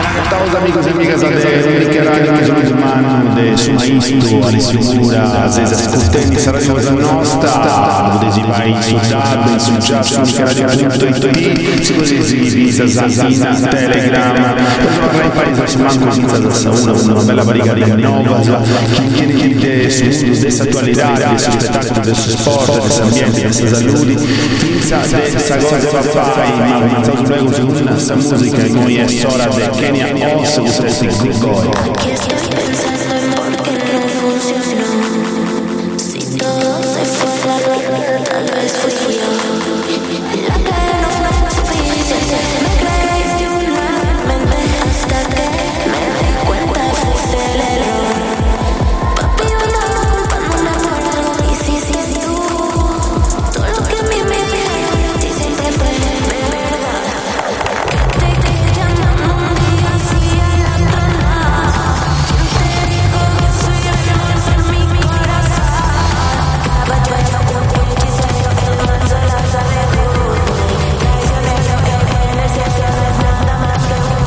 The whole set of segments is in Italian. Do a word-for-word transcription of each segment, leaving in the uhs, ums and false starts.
Estamos amigos e amigas de Nicaragua, mais um ano de suma isto, a lisura, às vezes as costelas saranno za nosta, dove si vai sudado, in successo, nicaragua.it, si così si divisa, Zazina, Telegram, poi in paese su manco senza sauna, una bella barriga nova, chi chiede su questa attualità, di su spettacolo, del su sport, del ambiente, del salute, finza de essa cosa papai, ma pensato luego su una musica e noi è ora de Kenya Oz, questo è il Goy. Aquí estoy pensando en por qué no funcionó. Si todo se fue a la mierda, tal vez fui yo. La que no fue suficiente, me creí una mente hasta que me di cuenta fuiste el error. Papi, yo andaba culpándome por algo que hiciste tú. Todo lo que a mí me dijeron de ti siempre fue verdad. Te quedé llamando un día así a la tonada. ¿Quién te dijo que soy yo? No es en mi corazón. Caballo, yo con tu hechicero, el mal se la sabe duro. Traicionero, en esencia no es nada más que un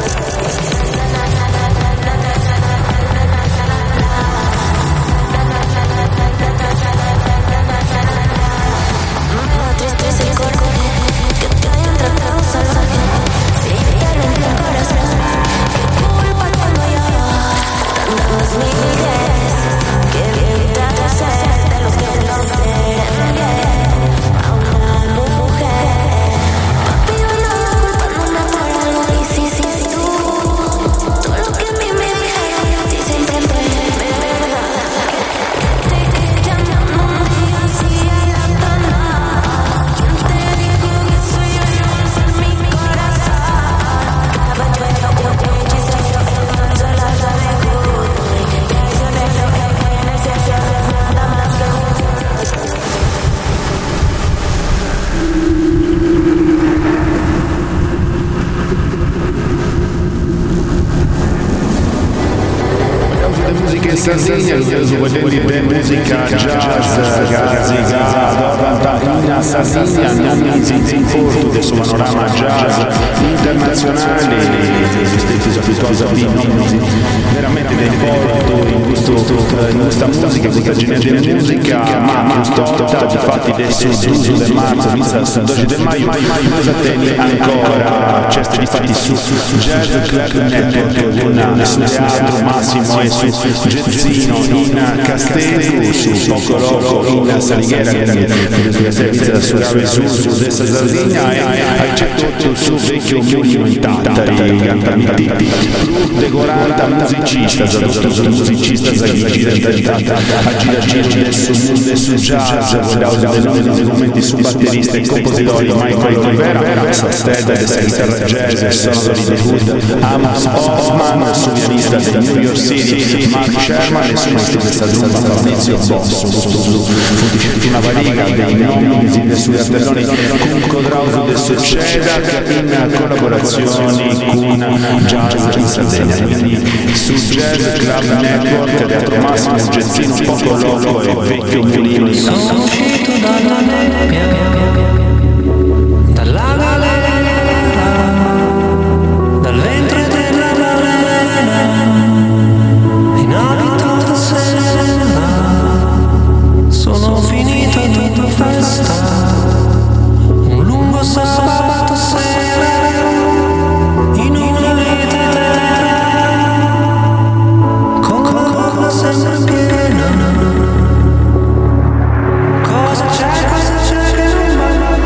me da tristeza y coraje que te hayan tratado salvaje. Si te rompió el corazón, qué culpa tengo yo. Tantas miles que bien trato ser de los que no quieren bien a una mujer. Papi, yo andaba culpándome por algo que hiciste tú. Todo lo que a mí me dijeron de ti siempre fue verdad. Te quedé llamando un día así a la tonada. ¿Quién te dijo que soy yo? No es en mi corazón. Caballero, con tu hechicero, el mal se la sabe duro. Traicionero, en esencia no es nada más que un De musica in Sardegna, su quelli di musica jazz, gazzigata, in Sardegna, non in corto del suo panorama jazz internazionale, esistenti abituati a vino, veramente del porto in questo in questa musica, questa genere di musica, ma questo di fatti del due del marzo, inizia il dodici del maggio, cosa tenne ancora, c'è di fatti su Jazz Club Network, con su Teatro Massimo e su Gezzino in Castello, su Poco Loco in Salighera, che servizio da Surave su su dessa Sardegna, e hai cercato su vecchio mulino in Tattari, cantanti decorata musicista, zadotto musicista, gira a gira giro del su su jazz, dei momenti su batterista e compositori Michael Rivera, Sastella della chitarra jazz e sonoro di The Hood, Amos Hoffman, su pianista del New York City, Mark Sherman e su maestro della tromba Fabrizio Bosso, fu una variga dei nomi dei suoi artelloni con Codrauso del Succeda in collaborazioni con Jazz in Sardegna, quindi su Jazz Club Network, Teatro Massimo, Gezzino, Poco Loco e Vecchio Mulino in Sono uscito dalla nebbia, dalla galera, dal ventre della balena, in abito da sera, sono finito in tua festa, un lungo sabato sera, in una vita con coca sempre piena. Cosa c'è, cosa c'è che non va?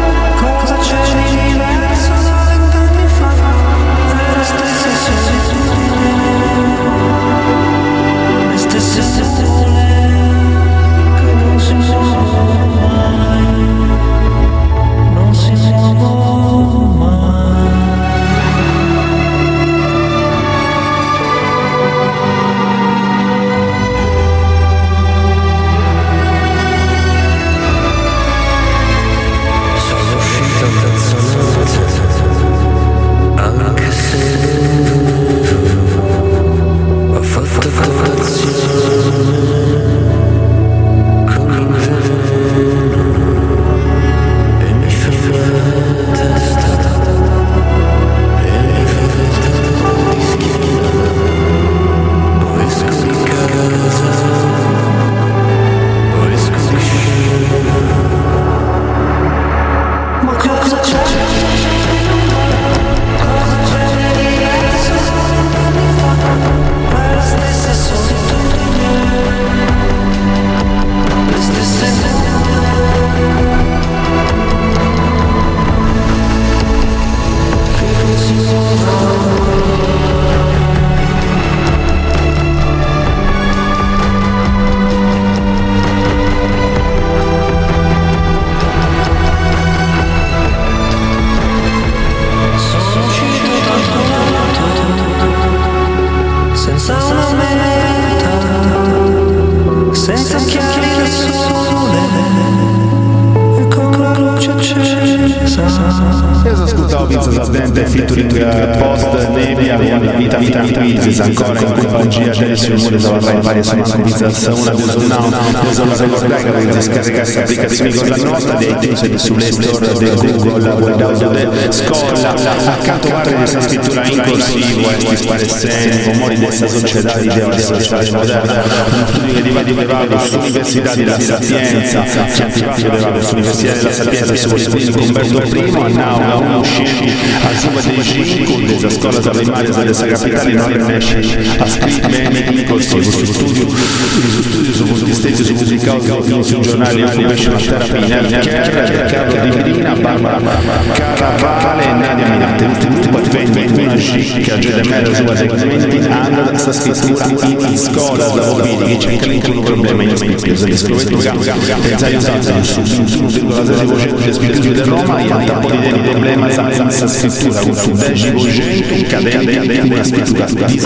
senza occhiali al sole e con la luce accesa. Io ascoltavo Vince Zazdente featuring Post Nebbia con la vita vita quiz ancora in compagnia adesso il muro dava vai varie sono pizza una del now deso la ricordai che avete scaricato questa applicazione cosa nostra dei iTunes e sulle store del Google guardando de scola accanto a questa scrittura in corsivo e sti sparescenti con modi dessa società di idea sociale moderna uno studio che diva di Vevago sull'Università della Sapienza che attivato Vevago sull'Università della Sapienza su quindi Umberto primo a Nauna uno usciti al suo dei cinque della scuola della primaria della capitale non riesce a scrivere bene in corsivo su studio su studio su punti stessi su pubblicato su giornali Information Therapy nel Care Carlo Di Medina Barbara Caravale Nadia Minate ultimo advento una scicca Gedemera su adegmenti hanno sta scrittura in scuola da Bobini che c'è anche un problema in spesa di scrittura pensai usato su uno virgola zero per cento delle spese di Roma e ha un po' di problema senza scrittura con su dieci per cento cadente in una scrittura di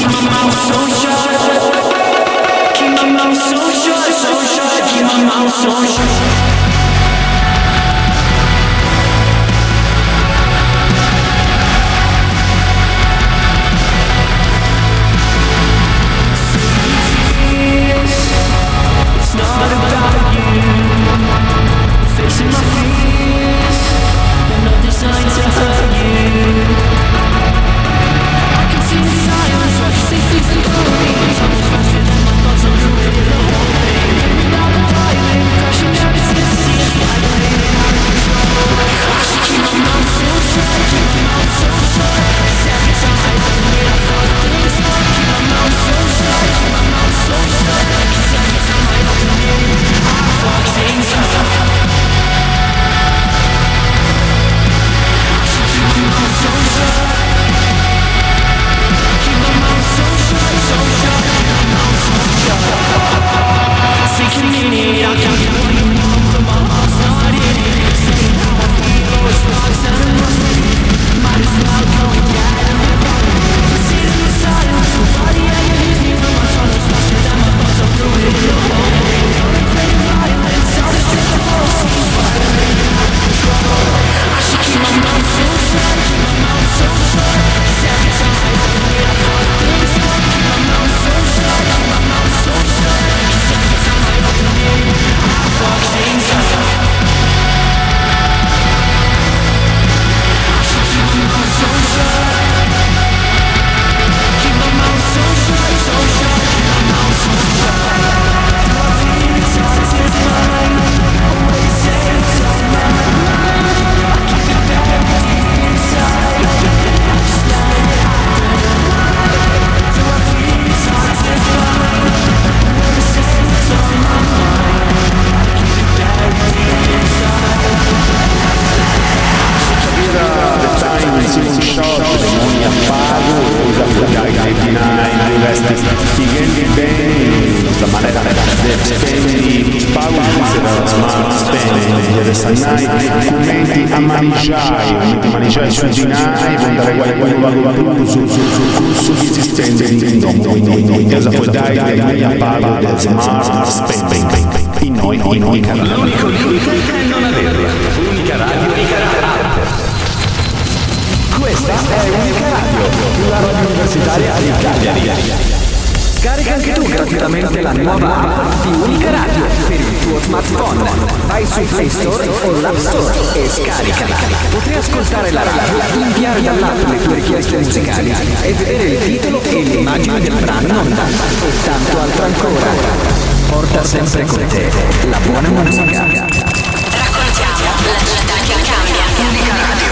Scarica anche tu gratuitamente la nuova app di Unica Radio per il tuo smartphone. Vai su Play Store o l'App Store e scaricala. Potrai ascoltare la radio, inviare dall'app le tue richieste musicali e vedere il titolo e l'immagine del brano in onda. E tanto altro ancora. Porta sempre con te la buona musica. Raccontiamo la città che cambia. Unica Radio.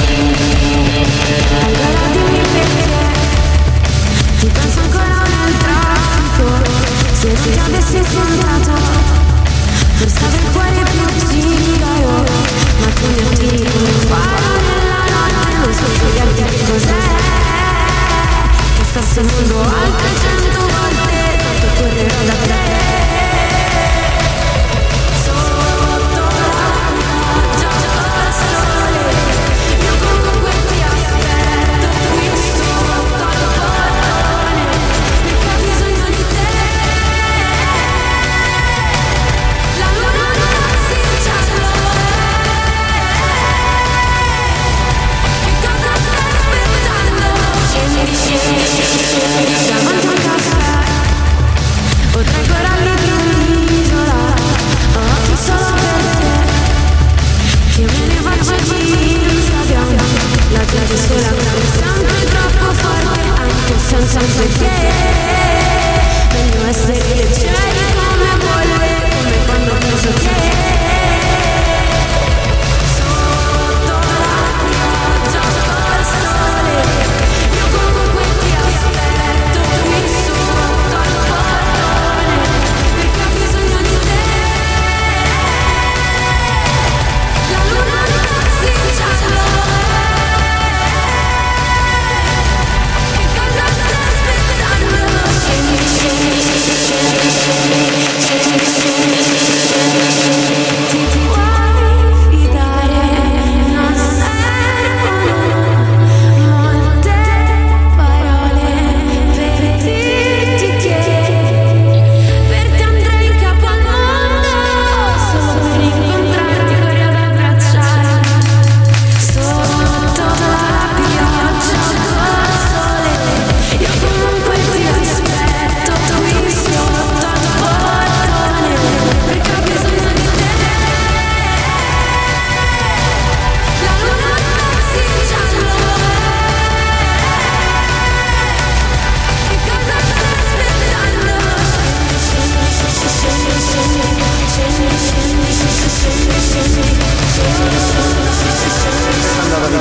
Allora dimmi perché ti penso ancora un'altra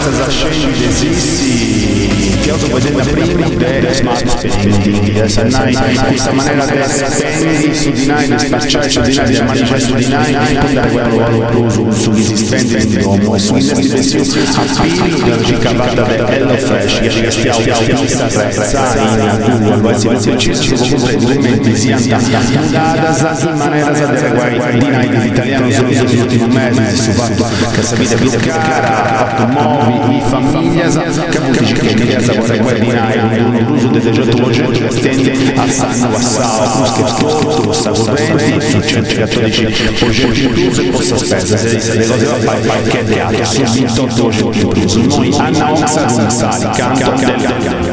essas ascende esiste che ho vedendo prima del smart spending, essa nai, questa maniera di spendi su di noi, di spacciare su di noi, di manifesto di noi, andare a guardare sugli spending d'uomo e sugli investimenti appili della ricavata del HelloFresh, che restiamo fissa prezza in Google, vai si vede ci comunque documenti sia dadas in maniera di reguai di noi di italiano solo negli ultimi mesi su fatto che sapete più cara, fatto muovi, famiglia, che vuol dire che l'idea vuole guardare l'uso del degetto oggetto che stende a sanno assao, che tutto sta corrente, su centocattodici oggetti plus e possa spesa, se le cose va fare che è teatro, su ventotto oggetti plus. Noi Anna Oxa Zunzali, canto del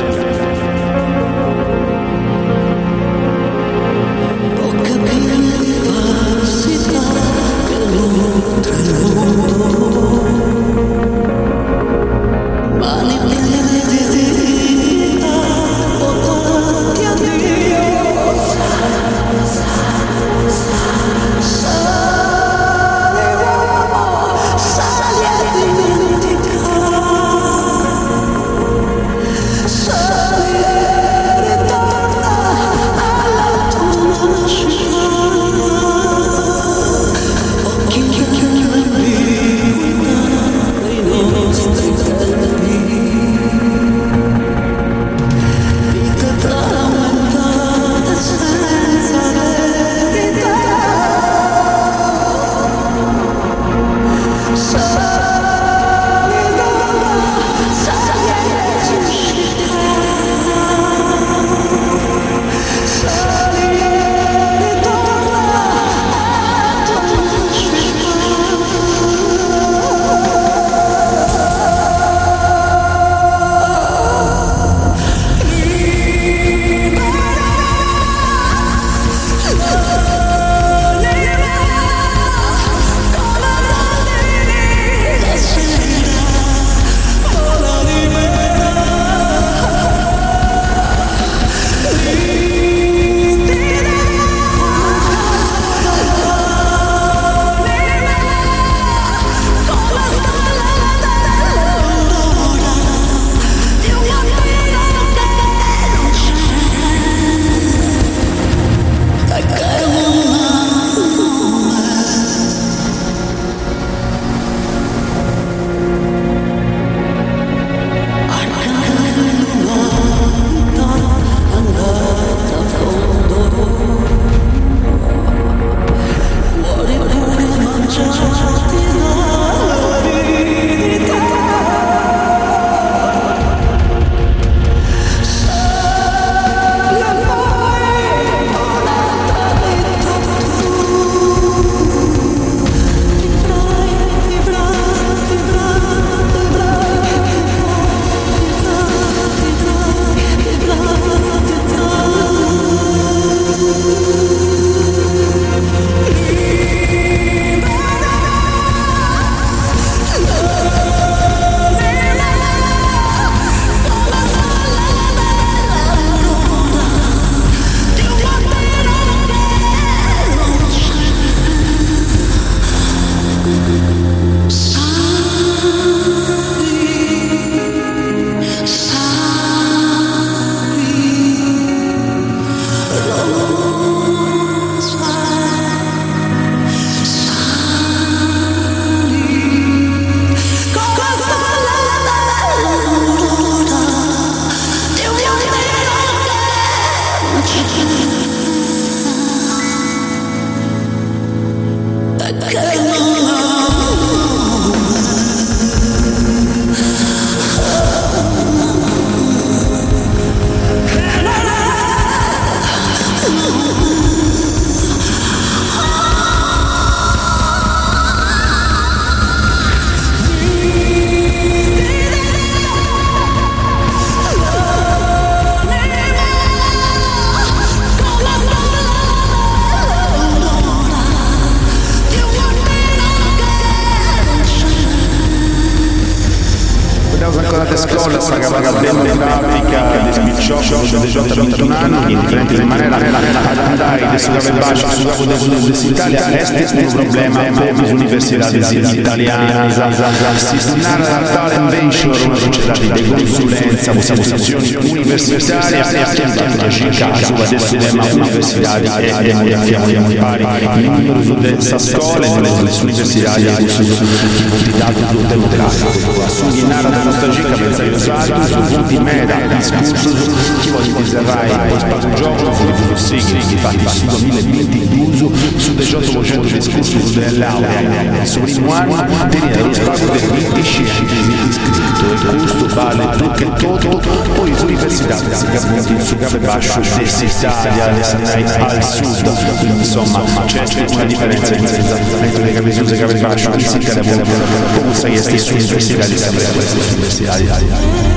scorate scuola, saga vaga demografica, despicciocco, de J ventuno anni, indifferenti di manera, ad andare, de sugave bacio, sugavo dell'Italia, este un problema per le università italiane, si stinara la talent venture, una società di consulenza, istituzioni universitarie, attenta a Chicago, adesso tema universitari e demografiamo in pari, il numero delle scuole, nelle università, dato sul demografico, assuminare la nostalgia pensa io usato, su di mera, discusso, chi vuole diserrai, poi spazio gioco, fu di Fussighi, infatti su duemilaventi d'uso, su diciotto discorso su delle lauree, su primo anno, tenere lo spazio del ventiscinque iscritto, e questo vale più che tutto, poi l'università, si appunti su Gave Bascio, dell'Italia, al sud, insomma, c'è una differenza in senso, le Gave Bascio, Gave Bascio, si cade come sai stesso università di sempre queste università.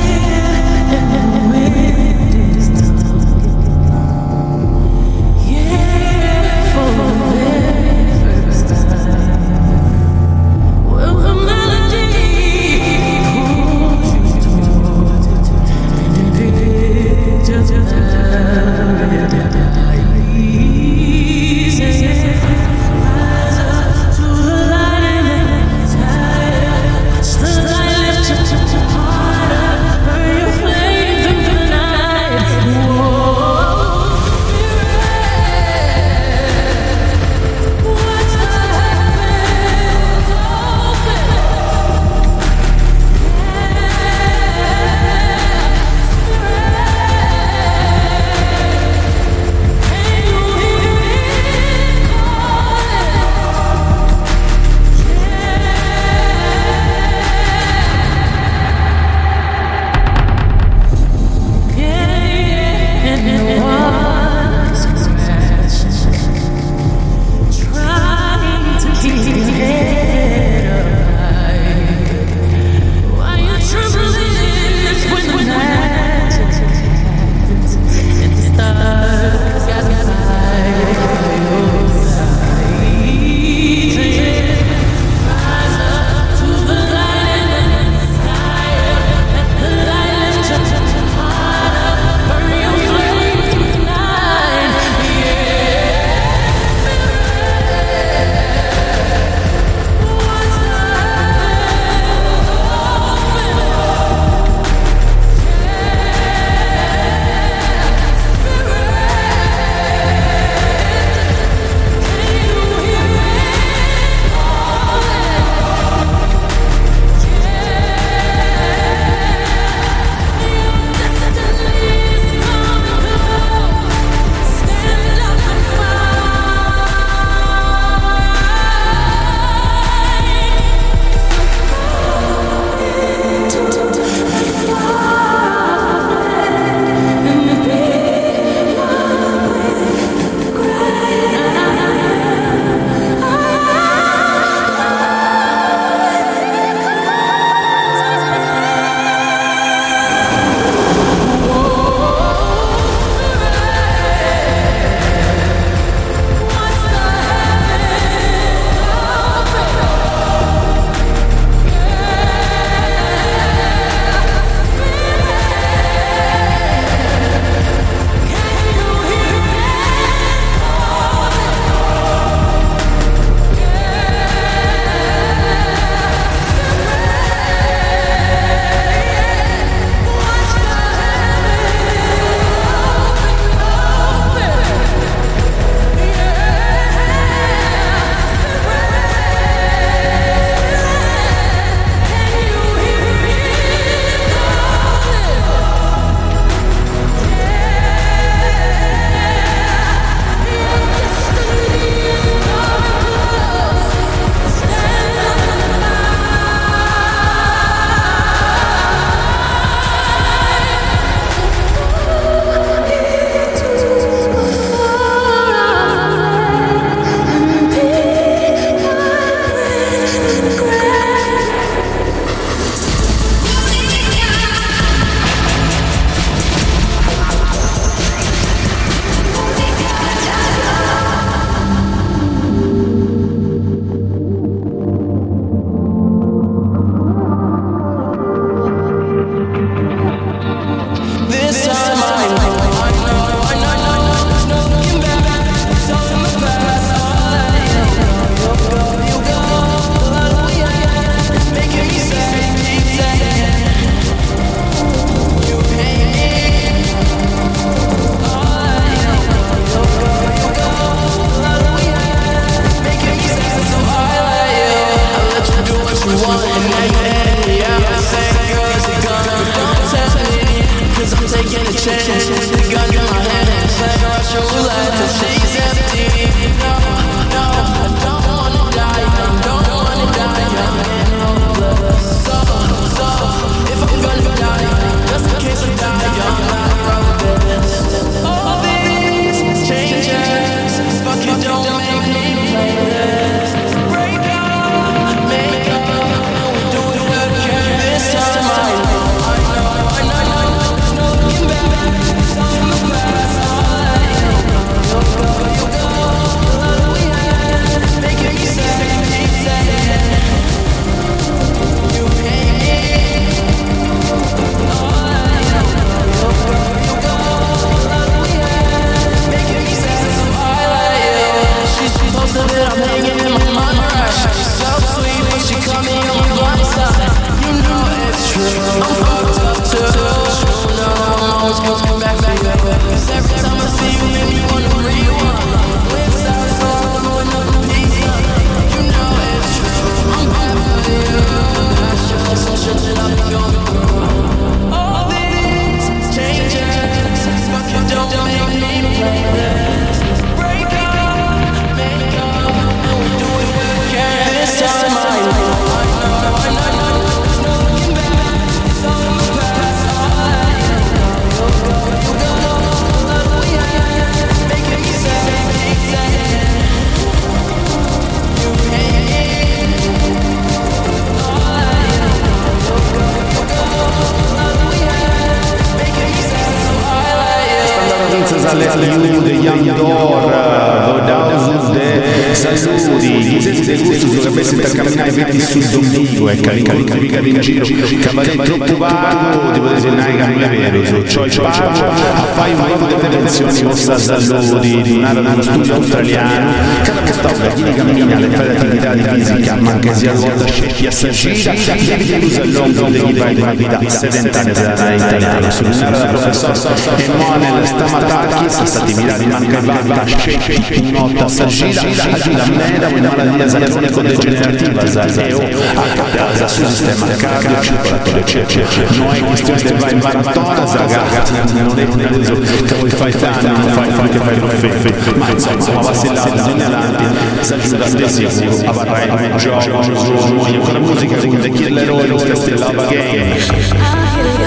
The per camminare dritti sul domingo e caricare in giro, cavaliere troppo vago, devo dire che non è vero, cioè il pago, fai un po' di prevenzione, mossa saludi, di un'area dello studio australiano, cada quest'opera chi cammina le fai l'attività di fisica, ma anche sia volta scegli assagita, devi usa il lungo degli vai di una vita sedentaria sarà in italiano, sull'un'area del professor Emanuele Stamatakis, stati mirati manca vanta, scegli un'otta assagita, agita meda, una malattia cronico-degenerativa, eo, a casa sul sistema cardiocircolatorio, non è questione che vai in maratona, ragazzi, non è una cosa che vuoi fare tanto, non fai che fai lo fefe, ma insomma, vacillato, in avanti, si aggiunta da sicuro, a barrai, a gioco, a con la musica, con The Killer Roll, lo stesso Love Again.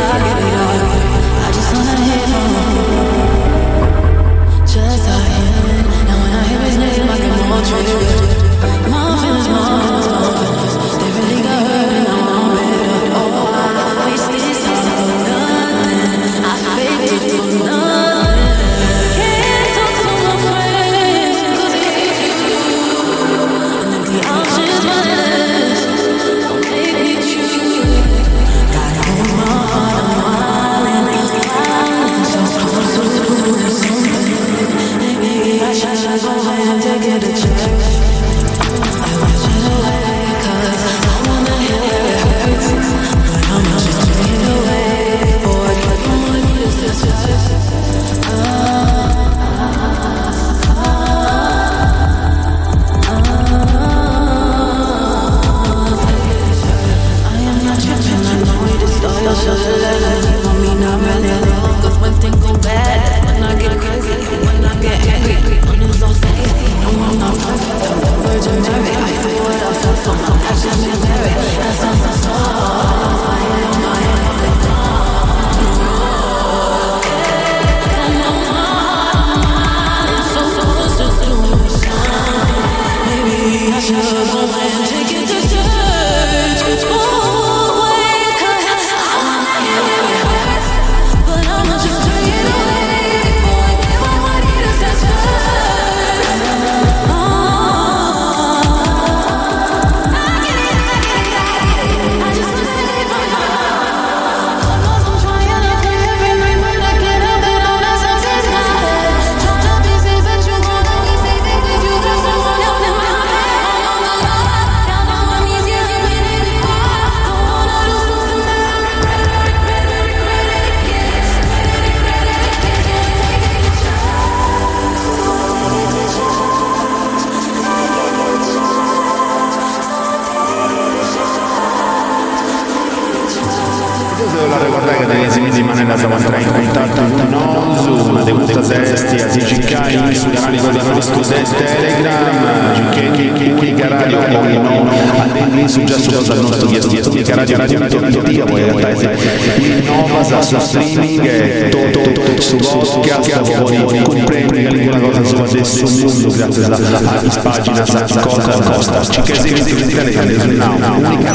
Pagina cosa costa ci che esiste in Italia unica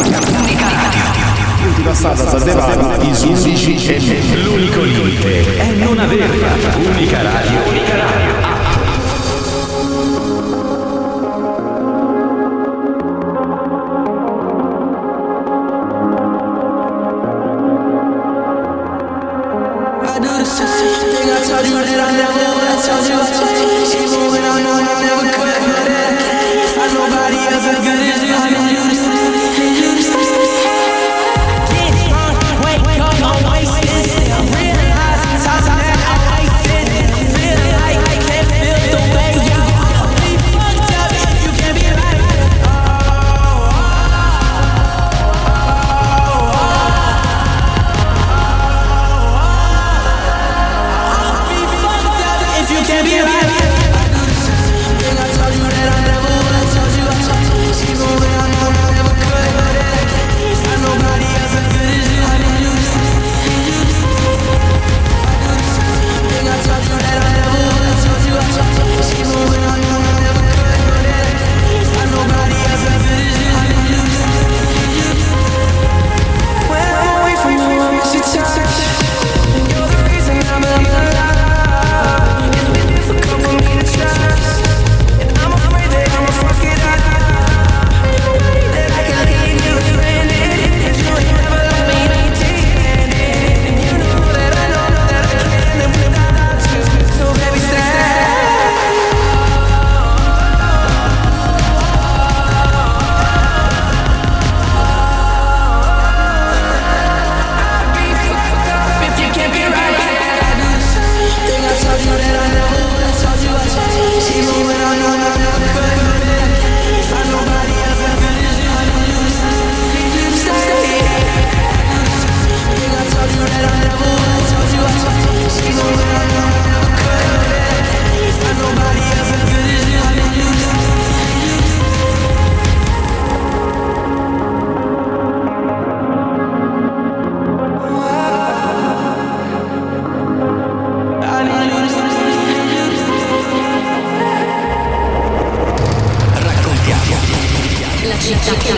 radio passata sapevamo i undici e l'unico limite è non averla. Unica radio, unica radio. I can't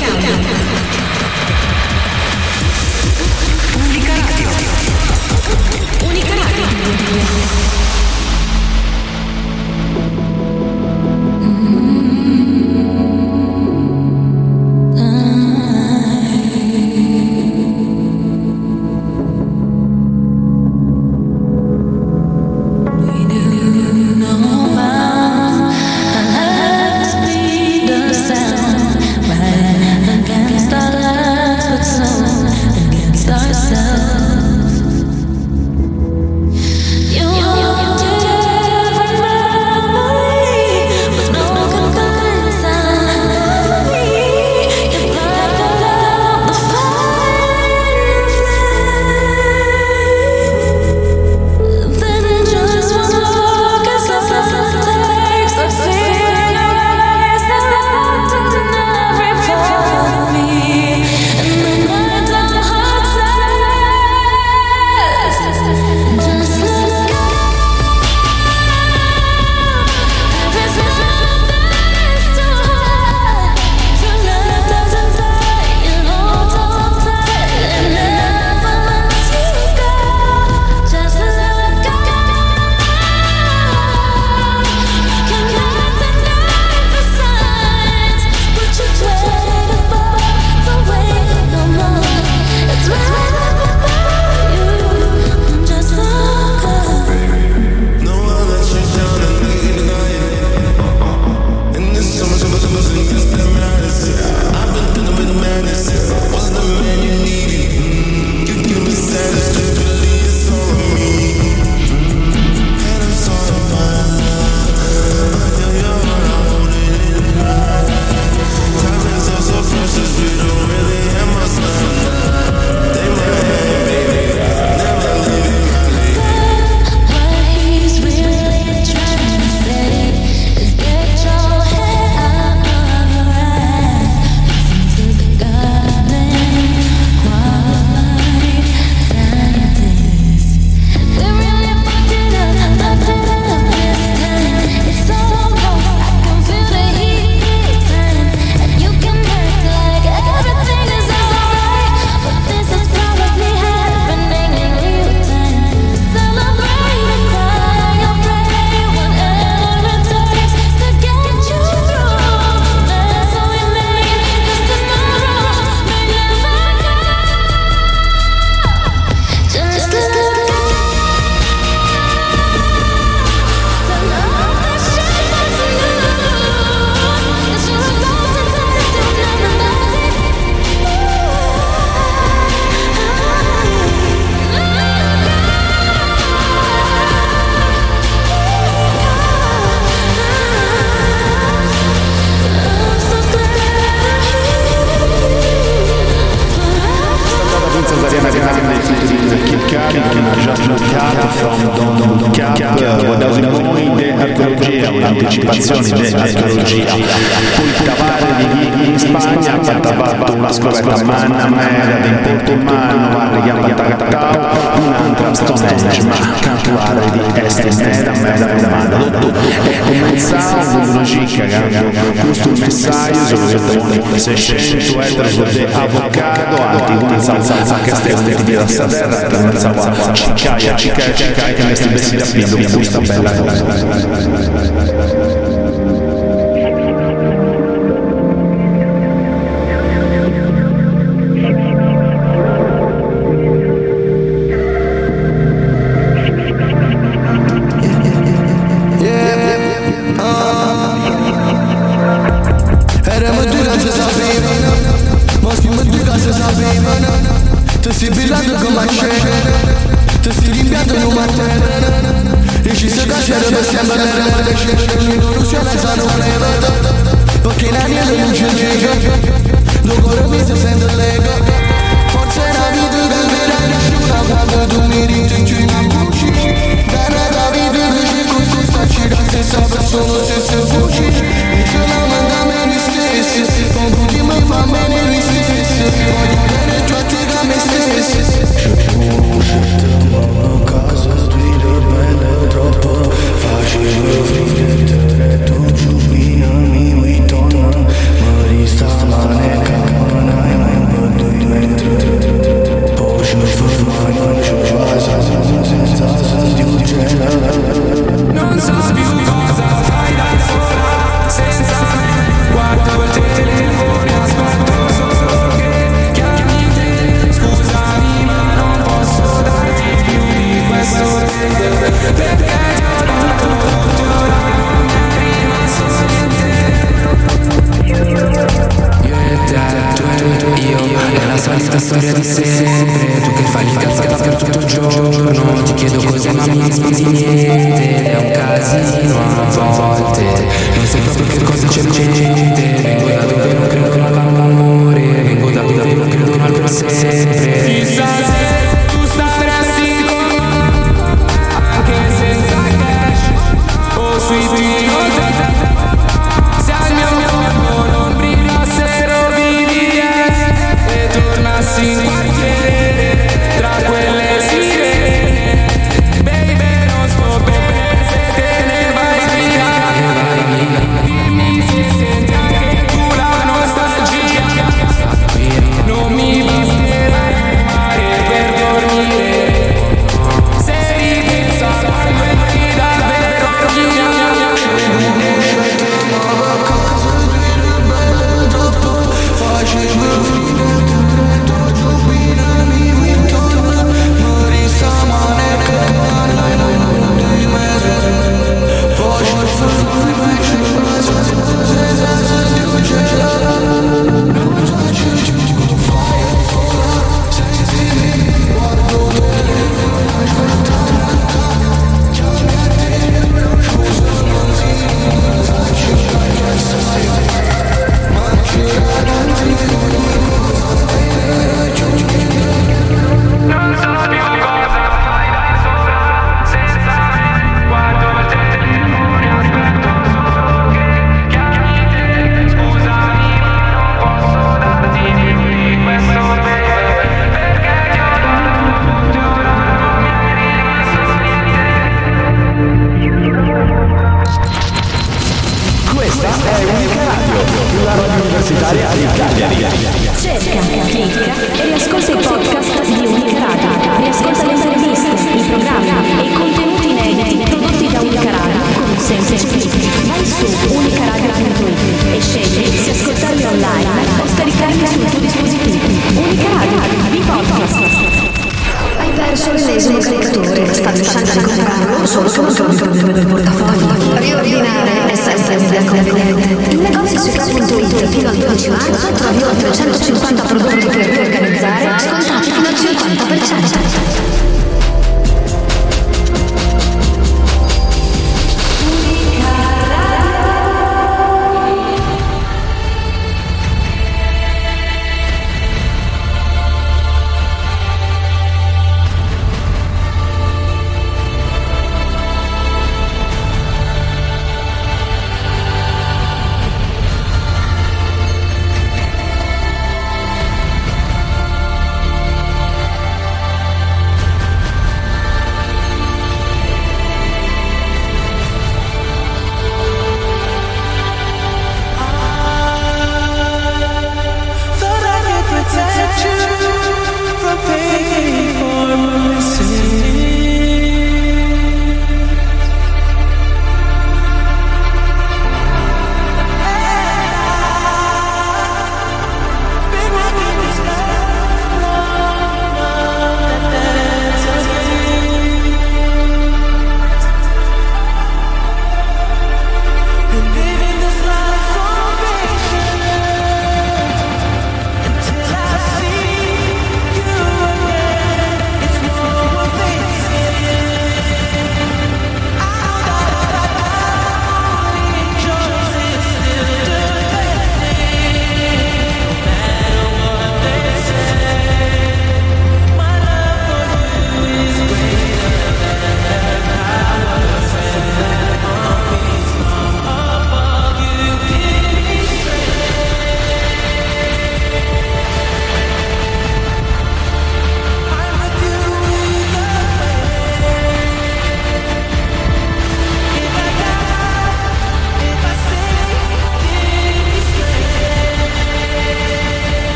Unica Radio. Unica Radio. Un'anticipazione dell'archeologia. Poi cavare di chi in Spagna ha fatto una scoperta manna mera di importo umano, guarda che ha fatto un'altra Stonehenge, ma cantuare di est mera mera umana. E cominciamo con una cicca che questo messaggio sono seicento etros di avocado, anti una salsa che stiamo di la terra, per una salsa ciccaia, ciccaia, ciccaia, che mi sti bessi da pido con questa bella cosa. Ti sti limpiando in un martello e ci sei cacciato per sempre storia di sempre. Tu che fai l'incazzata per tutto il giorno. Ti chiedo cos'è ma mi rispondi niente. Ed è un casino a volte. Non sai proprio che cosa c'è in mente. Vengo da dove non credo all'amore. Vengo da dove non credo al per sempre. Chissà se tu staresti con me anche senza cash o sui piloti. Se al mio corpo non brillassero vivi e tornassi in quartiere tra quelle sirene. Baby, non sto bene se te ne vai via. Dimmi se senti anche tu la nostalgia. Non mi basterà mare per dormire. Se ripenso a quando eri davvero mia. Non so più cosa fai da sola senza me. Guardo il telefono, aspetto solo che chiami te. Scusami ma non posso darti di più questo bene, perché ti ho dato tutto, non mi è rimasto niente. Questa è Unica Radio, la radio universitaria di Cagliari. Cerca, clicca e riascolta i podcast di Unica Radio. Riascolta le interviste, i programmi e i contenuti inediti prodotti da Unica Radio con un semplice clic. Vai su unicaradio punto it e scegli se ascoltarli online o scaricarli sul tuo dispositivo. Unica Radio, i podcast. Hai perso l'ennesimo caricatore, stavi uscendo di comprarlo, solo che non trovi il problema del portafoglio. Riordinare è sempre un'idea conveniente. In negozio su ca punto it fino al dodici marzo trovi oltre centocinquanta prodotti per riorganizzare, scontati fino al cinquanta per cento.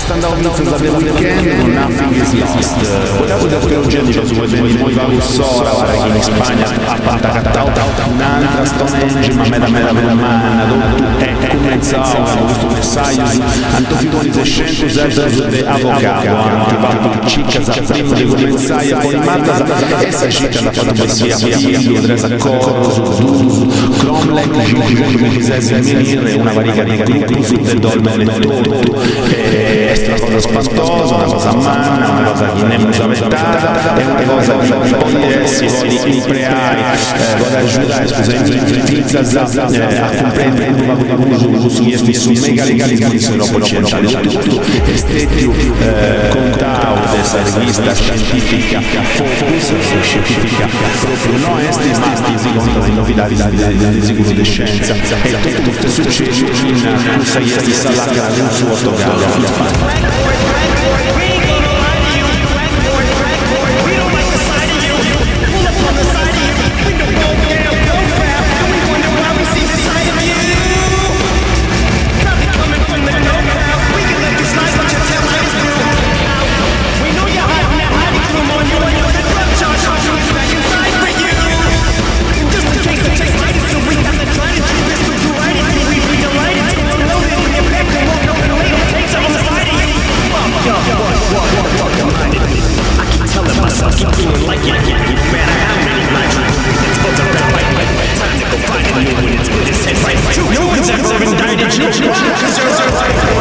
Standard Pieces of the Weekend con Nothing is Lost. Volevo da teologia di Gesù di Moiva Sora, che in Spagna ha pantacattau un'altra Stonehenge, ma me da me da me da manna, dove è comenzato questo messaggio, Antofitoni sescentos anos de avogado, anche fatto cicca prima di cominciare a formata, essa cicca la fatta poesia, figlio, dresa corso, du, cromlech, come quisesse venire, una varica di gruppi del dolme letto, è una cosa spantosa, una cosa manna, una cosa che nemmeno saventata, è una cosa che poi essi si impreari, vado a giudare, scusate, pizza a comprendere uso su questi su mega legalismo di solo centrale tutto estetio contao dessa rivista scientifica Focus scientifica proprio no esti ma si conta di novità di sicuro di scienza e tutto succede in un sei esti salata di un suo autogallo. No one's ever indicted you. Because you're so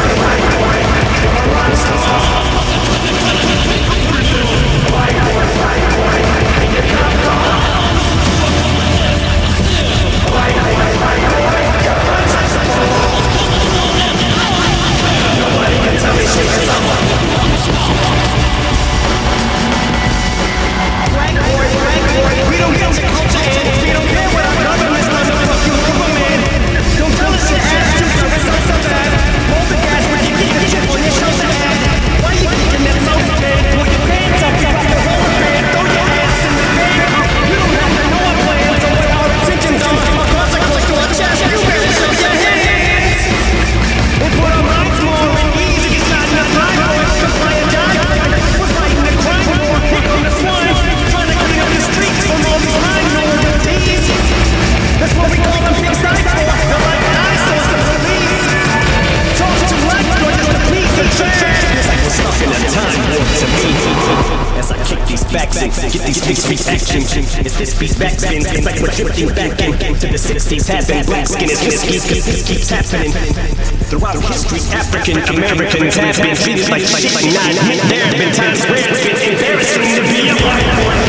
we don't get to culture and we don't care what our government's done to fuck you over, man. Don't tell us your ass juice or results so bad. Hold the gas when you keep the chip on your shoulder head. Why you thinking that's so bad? Pull your pants up, drop the roller band, throw your ass in the pan. You don't have to know our plans or what our intentions are. Our consequence to our chest, you better show your hands. And put our minds more at ease. It's not enough time for us to fly and die. We're fighting the crime war, quick on the swine. Trying to clean up the streets from all these mind melodies. That's what we call them big side for. They're like eyesores to police. Talk too much, or just a piece of trash. It's like we're stuck in a time warp to me. As I kick these backs in, get these fixed reactions. As this beat backspins, it's like we're drifting back into the sixties. Happened, black skin is risky, cause this keeps happening. Throughout history, African Americans have been treated like shit. Not admit there have been times where it's been embarrassing to be a white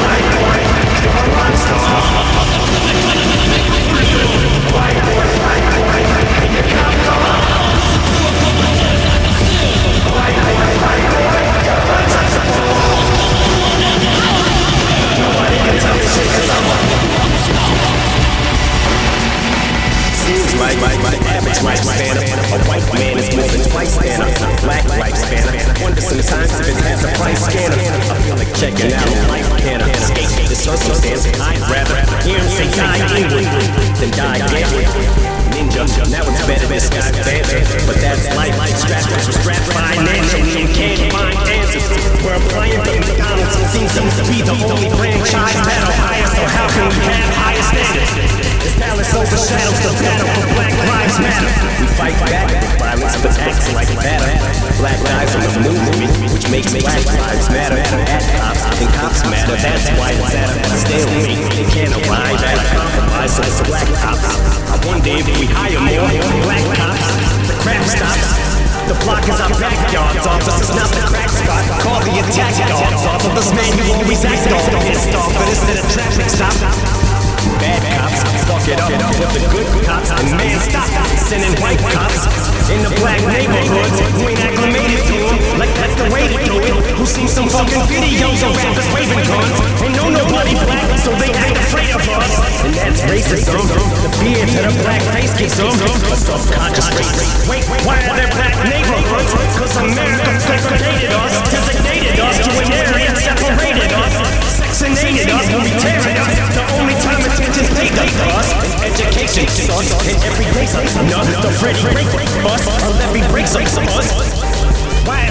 seems like the average lifespan of a white man is more than twice than a black lifespan. Wonder sometimes if it has a price scanner. I feel like checking out a life can I escape the circumstance. I'd rather hear him say die England than die gambling. Ninja, now it's better this guy's banter, but that's life. Strapped for strapped financially and can't find answers. We're applying the McDonald's seems to be the only franchise that'll hire. So how can we have higher standards? This palace overshadows the battle for Black Lives Matter. We fight back with violence, but acts like matter. Black lives are the movement, which makes Black Lives Matter. At cops, and cops matter. That's why it's at a stalemate. They can't arrive at a compromise, so it's Black cops. I wonder if we hire more Black cops, the crap stops. The block is our backyards, officers, not the crack spot. Call the attack dogs off of this man who always acts all pissed off, but instead of traffic stop. Bad cops, fuck it up with the good cops. And man, stop sending white cops in the black neighborhoods who ain't acclimated to them, like that's the way to do it. Who seen some fucking videos of rappers waving guns? Ain't know nobody black, so they act afraid of us. And that's racism. The beard to the black face gives them a subconscious race. Wait, why are there black neighborhoods? Cause America segregated us, designated us to an area, separated us, sectionated us, when we teared us. The only time attention's paid up to us is education, us, and every race us. No, the Freddie break us, or let me break us. Why is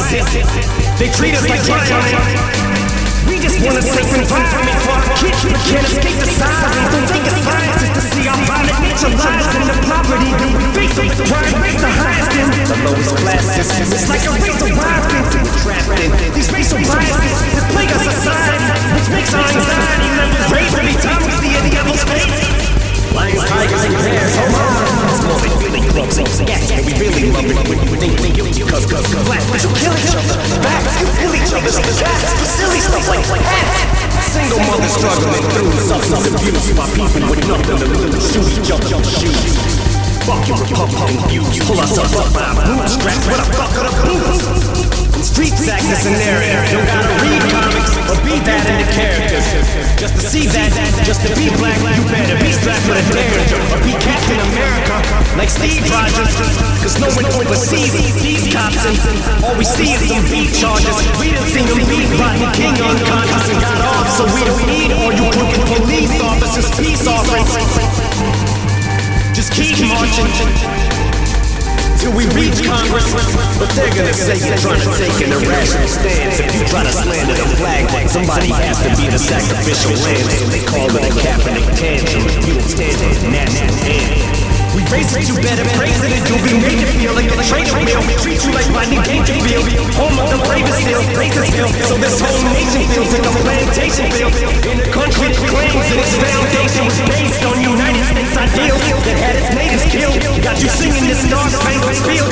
scientists. They treat us like giants. We just want a safe environment for our kids, but can't escape the sirens. Don't think it's science is to see our violent nature lies in the poverty. The face of the crime rates the highest in the lowest classes. It's like a race of wild things that we're trapped in. These racial biases that plague our society, which makes our anxiety levels raise every time we see a devil's face. Lions, tigers, and bears, hold on. It's more than feeling clubs and scats, but we really love it when you think we guilty, cause, cause, cause black people kill each other. Facts, you kill each other's backs for silly stuff like hats. Single mothers struggling through substance abuse by people with nothing to lose, shoot each other with shoes. Fuck you, pump, pump, views, pull us up up by bootstraps, what a fuck of the boots. Streets act as a narrative. Don't gotta read comics or be that in the characters. Just to see that, just to be black, you better be strapped with a derringer or be Captain America like Steve Rogers. Cause no one oversees these cops and all we see is some beat charges. We done seen them beat Rodney King unconscious and got off, so we don't need all you crooked police officers' peace offerings. Just keep marching till we reach Congress, but they're gonna say you're trying to take an irrational stance. If you try to slander the flag, somebody has to be the sacrificial lamb. So they call it a Kaepernick tantrum. You don't stand on the national anthem. We raise it, you better praise it, and you'll be made to feel like a traitor meal. We treat you like Rodney Dangerfield, home of the bravest still, Bakersfield. So this whole nation feels like a plantation field. In a country that claims that its foundation was based on United States ideals that had its natives killed. Got you singing this star-spangled field.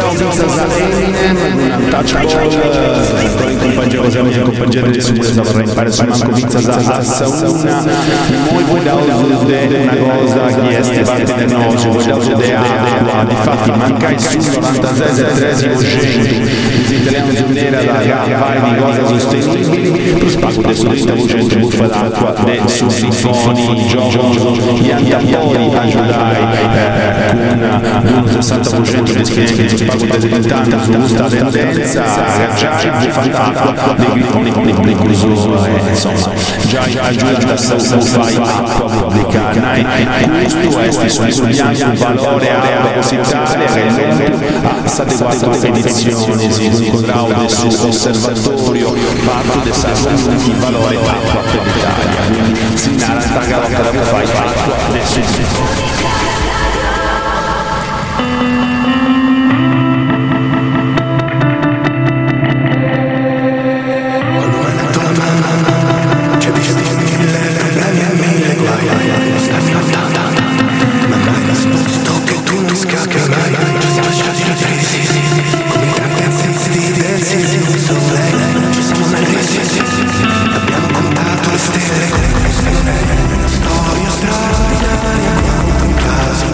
Poi in compagnia così in compagnia di Susa vorrei fare su una covizza za sauna moi voglio vedere una cosa che è parte del nostro voglio vedere acqua difatti manca il sul novantasei e tredicesimo cento gli italiani vedere la fare di cose sostenibili per spago adesso di stavo cento buffa d'acqua adesso sinfoni gioco gli antapodi aiutai con un sessanta per cento di schiena che spago dell'intanto su questa tendenza già buffa d'acqua dei grifoni dei preclusioni insomma già aiuta a salvare acqua pubblica questo è sul bianco un valore propositario che ha state quattro edizioni si incontrava sul osservatorio parte del sasso di valore acqua per l'Italia quindi si narra che la fai acqua adesso Storia straordinaria, quanto in casa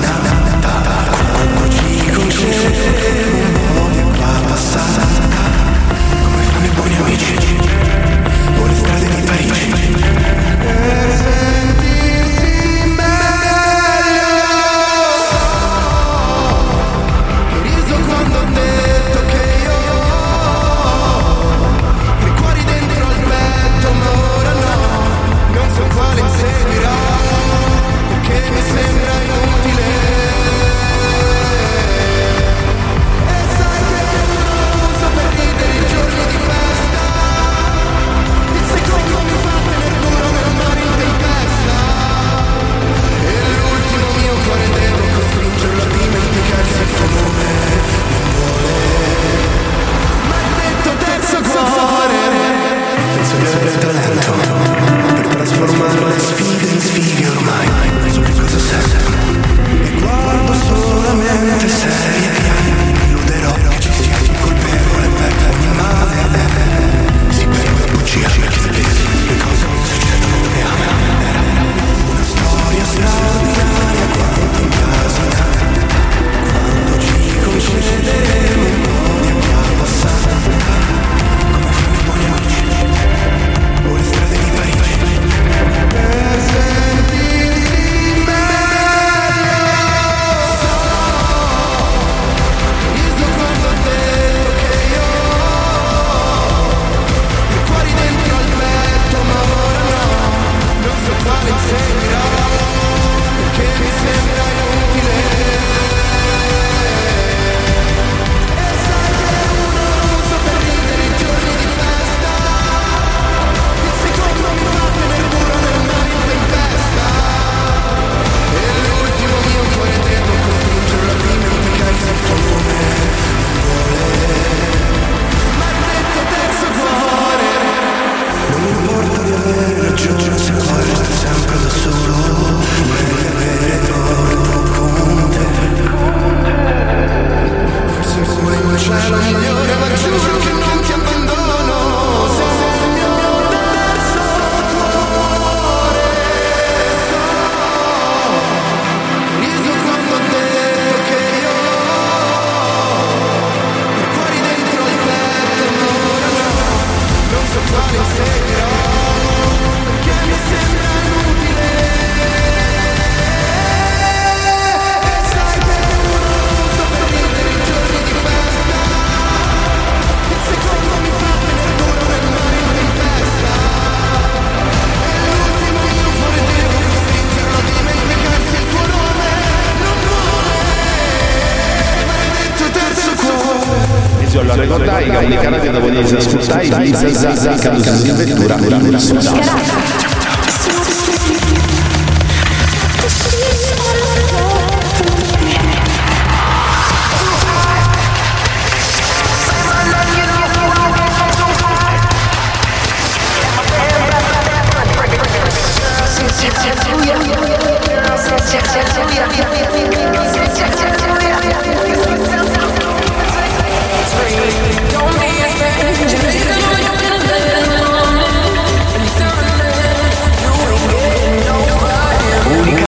dopo di ascoltare Vinza Zazza, che in vettura,